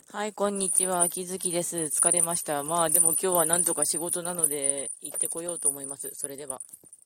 はい、こんにちは。秋月です。疲れました。まあ、でも今日はなんとか仕事なので行ってこようと思います。それでは。